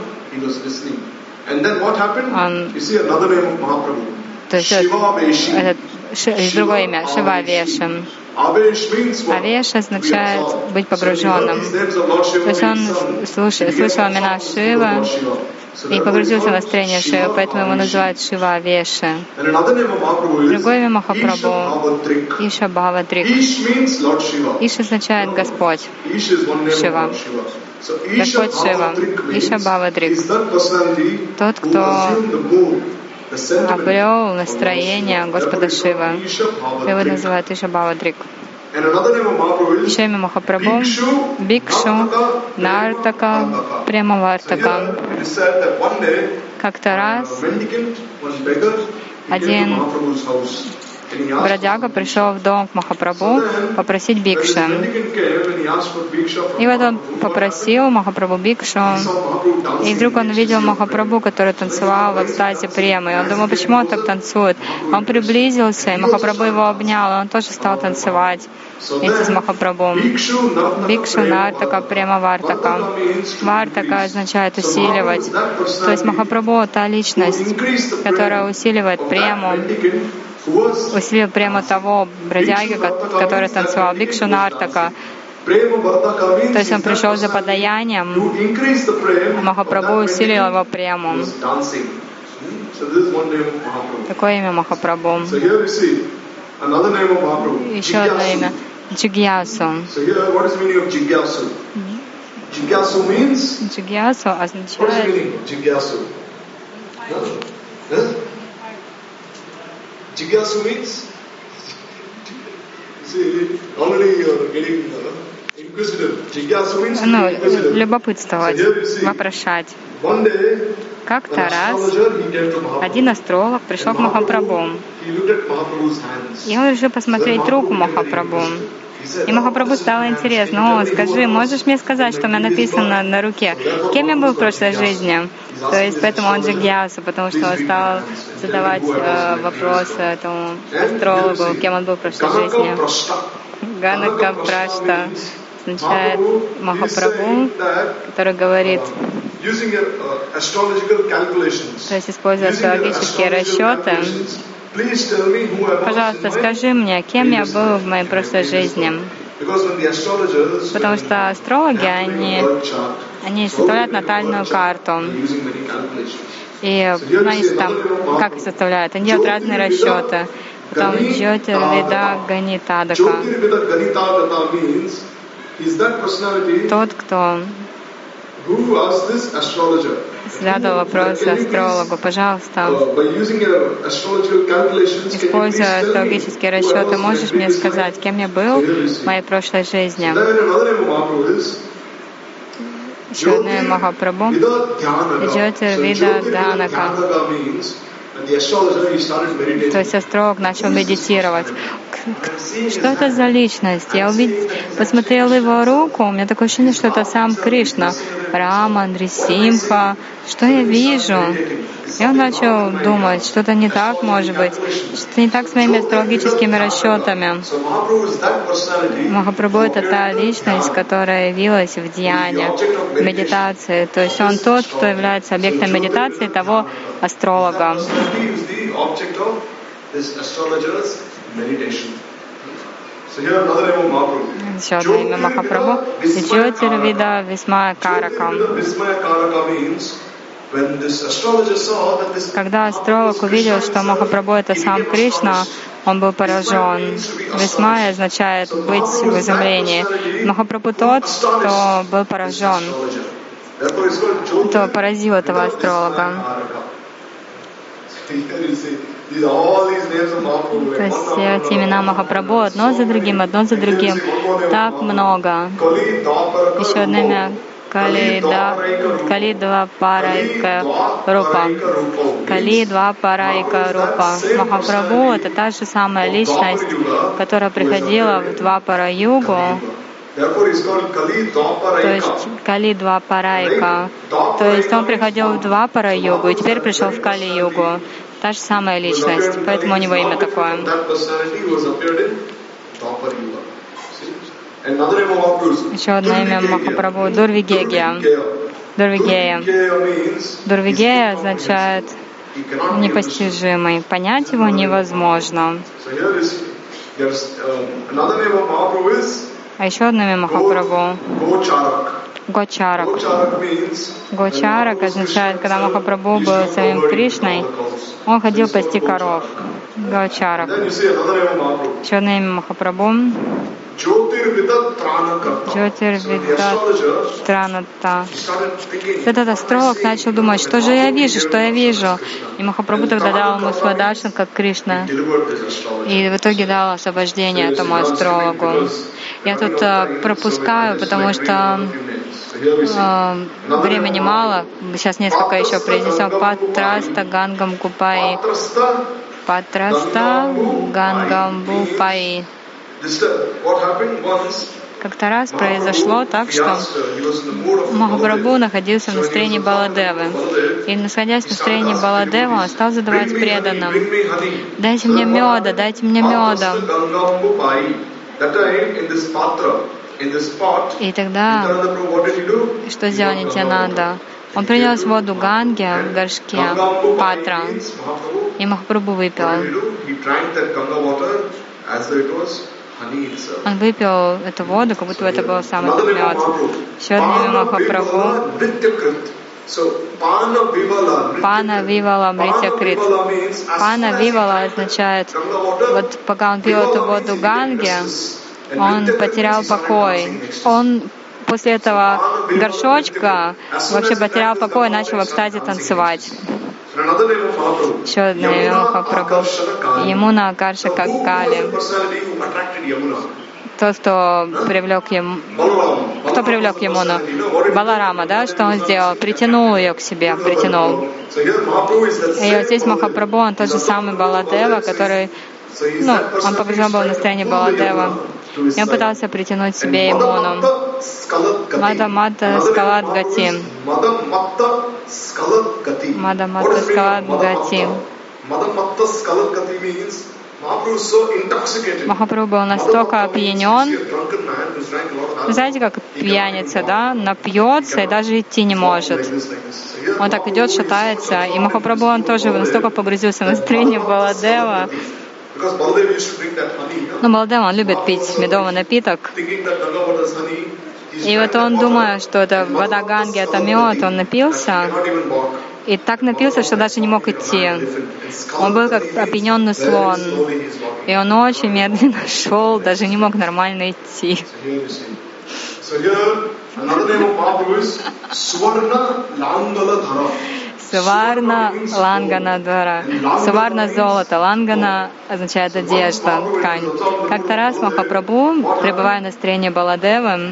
он, то есть это другое имя, Шива Вешам. Авеш означает быть погруженным. То есть он слышал имена Шива и погрузился в настроение Шивы, поэтому его называют Шива Авеши. Другое имя Махапрабху — Иша Бхавадрик. Иш означает Господь, Шива. Господь Шива, Иша Бхавадрик. Тот, кто обрел настроение Господа Шивы. Его называют Иша Бхавадрик. Еще имя Махапрабху — Бикшу, Нартака, Премавартака. Как-то раз один бродяга пришел в дом к Махапрабху попросить бикшу. И вот он попросил Махапрабху бикшу, и вдруг он увидел Махапрабху, который танцевал в экстазе премы. И он думал, почему он так танцует? Он приблизился, и Махапрабху его обнял, и он тоже стал танцевать вместе с Махапрабху. Бикшу, Нартака, Према Вартака. Вартака означает усиливать. То есть Махапрабху — та личность, которая усиливает прему, усилил прему того бродяги, который танцевал. Бикшу Нартака. То есть он пришел за подаянием, а Махапрабху усилил его прему. Такое имя Махапрабху. Еще одно имя — Джигьясу. Джигьясу означает... Jigyasu means already you are getting inquisitive. Jigyasu means inquisitive. Любопытствовать, вопрошать. Как-то раз один астролог пришел к Махапрабху, и он решил посмотреть руку Махапрабху. И Махапрабху стало интересно: «О, скажи, можешь мне сказать, что у меня написано на руке? Кем я был в прошлой жизни?» То есть поэтому он Джигьясу, потому что он стал задавать вопросы этому астрологу, кем он был в прошлой жизни. Ганака Прашта означает Махапрабху, который говорит, то есть используя астрологические расчеты: «Пожалуйста, скажи мне, кем я был в моей прошлой жизни». Потому что астрологи, они составляют натальную карту. И они там, как их составляют? Они делают разные расчеты. Потом Джьотирведа Ганитадака. Тот, кто задал вопрос астрологу: «Пожалуйста, используя астрологические расчеты, можешь мне сказать, кем я был в моей прошлой жизни?» Еще одно Махапрабху — Джьотирведа Данака. То есть астролог начал медитировать. Что это за личность? Я посмотрел его руку, у меня такое ощущение, что это сам Кришна, Рама, Нрисимха. Что я вижу? И он начал думать, что-то не так, может быть, что-то не так с моими астрологическими расчетами. Махапрабху — это та личность, которая явилась в дьяне, в медитации. То есть он тот, кто является объектом медитации того астролога. Еще одно имя Махапрабху — Джьотирведа Висмая Карака. Когда астролог увидел, что Махапрабху — это сам Кришна, он был поражен. Висмая означает быть в изумлении. Махапрабху тот, кто был поражен, кто поразил этого астролога. То есть все эти имена Махапрабху одно за другим. Так много. Еще одно имя Кали Двапарайка Рупа. Кали Двапарайка Рупа. Махапрабху — это та же самая личность, которая приходила в Двапара-югу. То есть Кали Двапарайка. То есть он приходил в Двапара-югу и теперь пришел в Кали-югу. Та же самая личность, поэтому у него имя такое. Еще одно имя Махапрабху — Дурвигея. Дурвигея означает непостижимый. Понять его невозможно. А еще одно имя Махапрабху — Гочарак. Гочарак означает, когда Махапрабху был самим Кришной, он ходил пасти коров. Гочарак. Еще одно имя Махапрабху — Джотирвидат Траната. Этот астролог начал думать, что же я вижу. И Махапрабху тогда дал ему свой даршан, как Кришна. И в итоге дал освобождение этому астрологу. Я тут пропускаю, потому что времени мало. Сейчас несколько еще произнесем. Патраста Гангам Купаи. Патраста Гангам Бупаи. Как-то раз произошло так, что Махапрабху находился в настроении Баладевы. И, находясь в настроении Баладевы, он стал задавать преданным: «Дайте мне меда, дайте мне меда». И тогда, что сделал Нитьянанда? Он принес воду Ганги в горшке Патра, и Махапрабху выпил. Он выпил эту воду, как будто это был самый мед. Еще одно имя Махапрабху — Пана Вивала Мритякрит. Пана Вивала означает, вот пока он пил эту воду Ганги, он потерял покой. Он после этого горшочка вообще потерял покой и начал в экстазе танцевать. Еще одно имя Махапрабху — Ямуна Акарша Кали. Тот, кто привлек Ямуну? Баларама, да? Что он сделал? Притянул ее к себе, притянул. И вот здесь Махапрабху, он тот же самый Баладева, который, он по-прежнему был в настроении Баладева. И он пытался притянуть себе Ямуну. Мада-мата скалат гати. Мада-мата скалат гати. Махапрабху был настолько опьянен. Вы знаете, как пьяница, да? Напьется и даже идти не может. Он так идет, шатается. И Махапрабху, он тоже настолько погрузился в настроение Баладева. Баладева, он любит пить медовый напиток. И вот он, думая, что это вода Ганги, это мед, он напился. И так напился, что даже не мог идти. Он был как опьяненный слон. И он очень медленно шел, даже не мог нормально идти. Суварна Ланганадвара. Суварна — золото, Лангана означает одежда, ткань. Как-то раз Махапрабху, пребывая в настроении Баладевы,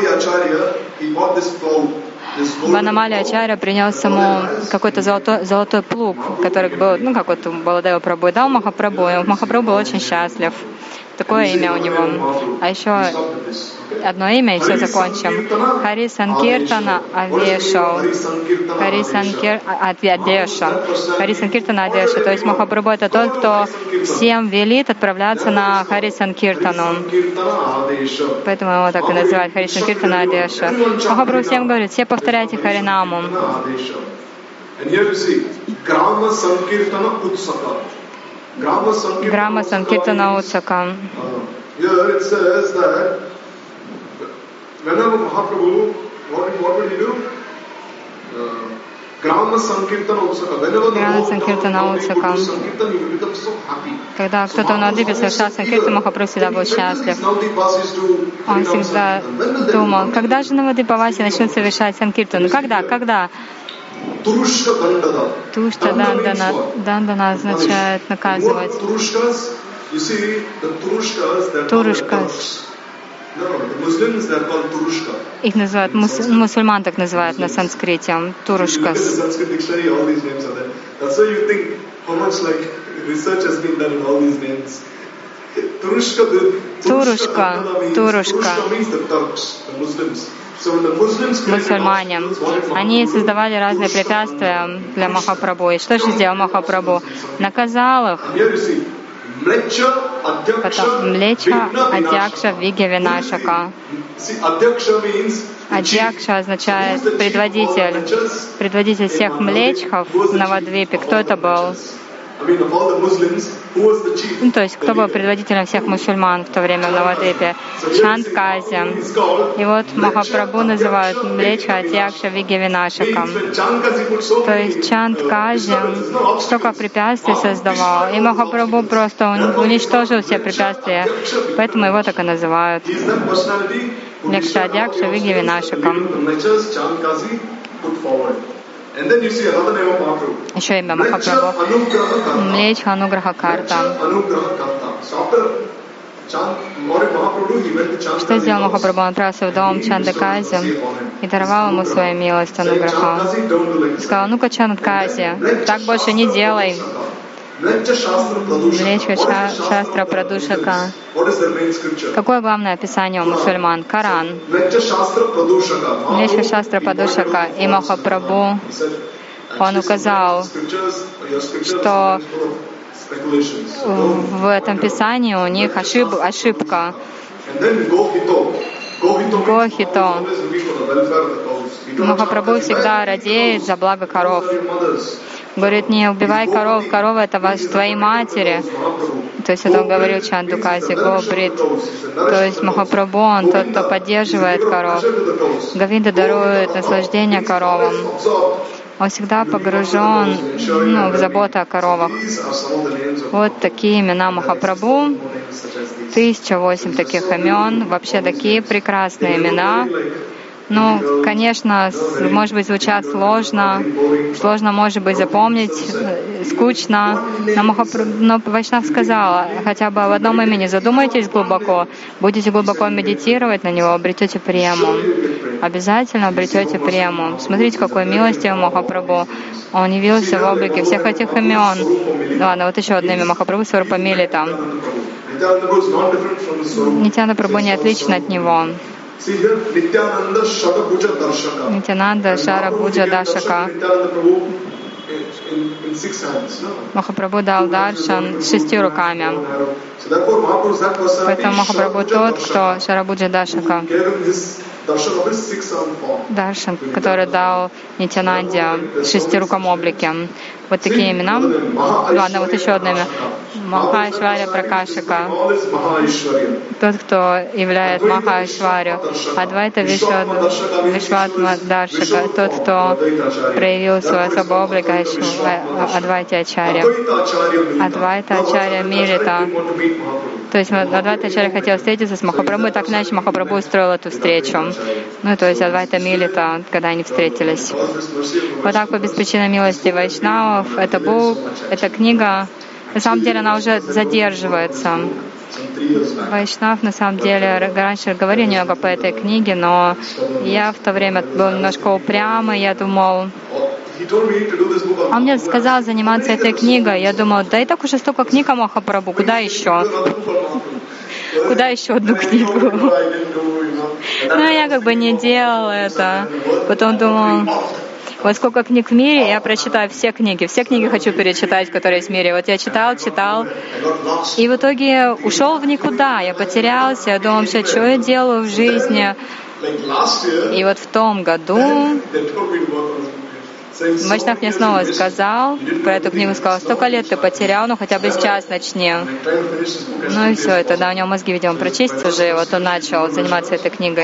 Ванамали Ачарья принес ему какой-то золотой плуг, который был, как вот Баладева Прабху дал Махапрабху, и Махапрабху был очень счастлив. Такое имя у него. А еще одно имя, и все закончим. Хари Санкиртана Авеша. Хари Санкиртана Адеша. То есть Махапрабху — это тот, кто всем велит отправляться на Хари Санкиртану. Поэтому его так и называют Хари Санкиртана Адеша. Махапрабху всем говорит: все повторяйте Харинаму. Грама Санкиртана Утсака. Here it says that whenever Mahaprabhu, what would he do? Грама Санкиртана Утсака. Когда кто-то в Навадвипе совершал Санкиртан, Махапрабху всегда был счастлив. Он всегда думал, когда же Навадвипаваси начнут совершать Санкиртан? Когда? Тушта Дандана означает наказывать. Турушкас. Их называют, мусульман так называют на санскрите, турушкас. Турушка. Мусульмане. Они создавали разные препятствия для Махапрабху. И что же сделал Махапрабху? Наказал их. Потом Млечха, Адьякша, Виги, Винашака. Адьякша означает предводитель всех млечхов в Навадвипе. Кто это был? То есть, кто был предводителем всех мусульман в то время в Навадвипе? Чандкази. И вот Махапрабху называют Млечха, Адьякша, Виги, Винашакам. То есть Чандкази столько препятствий создавал, и Махапрабху просто уничтожил все препятствия, поэтому его так и называют. Млечха, Адьякша, Виги, Винашакам. Еще имя Махапрабху. Млечха Ануграха Карта. Что сделал Махапрабху? Он отправился в дом Чандакази и даровал ему свою милость Ануграха. Сказал, ну-ка, Чандакази, так больше не делай. Млечха Шастра Прадушака. Какое главное описание у мусульман? Коран. Млечха Шастра Прадушака. И Махапрабху, он указал, что в этом писании у них ошибка. Гохито. Махапрабху всегда радеет за благо коров. Говорит, не убивай коров, коровы — это твои матери. То есть это он говорил Чандукази, Гобрит. То есть Махапрабху, он тот, кто поддерживает коров. Говинда дарует наслаждение коровам. Он всегда погружен в заботу о коровах. Вот такие имена Махапрабху. 1008 таких имен. Вообще такие прекрасные имена. Ну, конечно, может быть, звучат сложно может быть запомнить, скучно, но Вайшнав сказала, хотя бы об одном имени задумайтесь глубоко, будете глубоко медитировать на него, обретете прему. Обязательно обретете прему. Смотрите, какой милостивый Махапрабху. Он явился в облике всех этих имен. Ладно, вот еще одно имя Махапрабху, Сварупамилита. Нитьянанда Прабху не отлично от него. Нитьянанда Шарабуджа Дашака. Махапрабху дал даршан 6 руками. Поэтому Махапрабху тот, кто Шарабуджа Дашака. Даршан, который дал Нитьянанде в 6-руком облике. Вот такие имена. Ладно, вот еще одно имя. Махаишвария Пракашика. Тот, кто являет Махаишварию. Адвайта Вишватма Даршика. Тот, кто проявил свой особый облик Адвайта Ачарья. Адвайта Ачарья Милита. То есть Адвайта Ачарья хотел встретиться с Махапрабху, и так иначе Махапрабху устроил эту встречу. Ну, то есть Адвайта Милита, когда они встретились. Вот так по беспричинной милости Вайшнавов, это Бук, эта книга, на самом деле она уже задерживается. Вайшнав, на самом деле, раньше говорил немного по этой книге, но я в то время был немножко упрямый, я думал, он мне сказал заниматься этой книгой. Я думал, да и так уже столько книг о Махапрабху, куда еще? Куда еще одну книгу? Но я как бы не делал это. Потом думал, вот сколько книг в мире, я прочитаю все книги хочу перечитать, которые есть в мире. Вот я читал, и в итоге ушел в никуда, я потерялся, я думал, вообще, что я делаю в жизни? И вот в том году Вайшнав мне снова сказал про эту книгу, сказал, 100 лет ты потерял, ну хотя бы сейчас начни. Ну и все, и тогда у него мозги, видимо, прочистятся уже, и вот он начал заниматься этой книгой.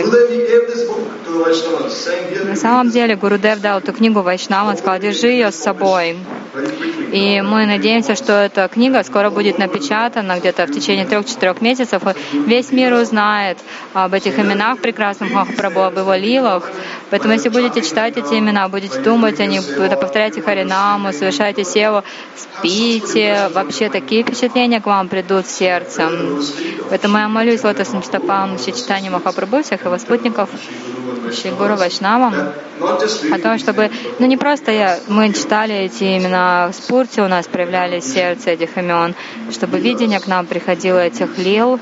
На самом деле Гурудев дал эту книгу Вайшнаву, он сказал, держи ее с собой. И мы надеемся, что эта книга скоро будет напечатана где-то в течение 3-4 месяцев. И весь мир узнает об этих именах прекрасных Махапрабху, об его лилах. Поэтому если будете читать эти имена, будете думать о них, повторяйте Харинаму, совершайте севу, спите, вообще такие впечатления к вам придут в сердце. Поэтому я молюсь лотосным стопам Шри Чайтаньи Махапрабху, всех его спутников, Шри Гуру Вайшнавам, о том, чтобы, не просто мы читали эти имена в спурте, у нас проявлялись сердце этих имен, чтобы видение к нам приходило этих лил.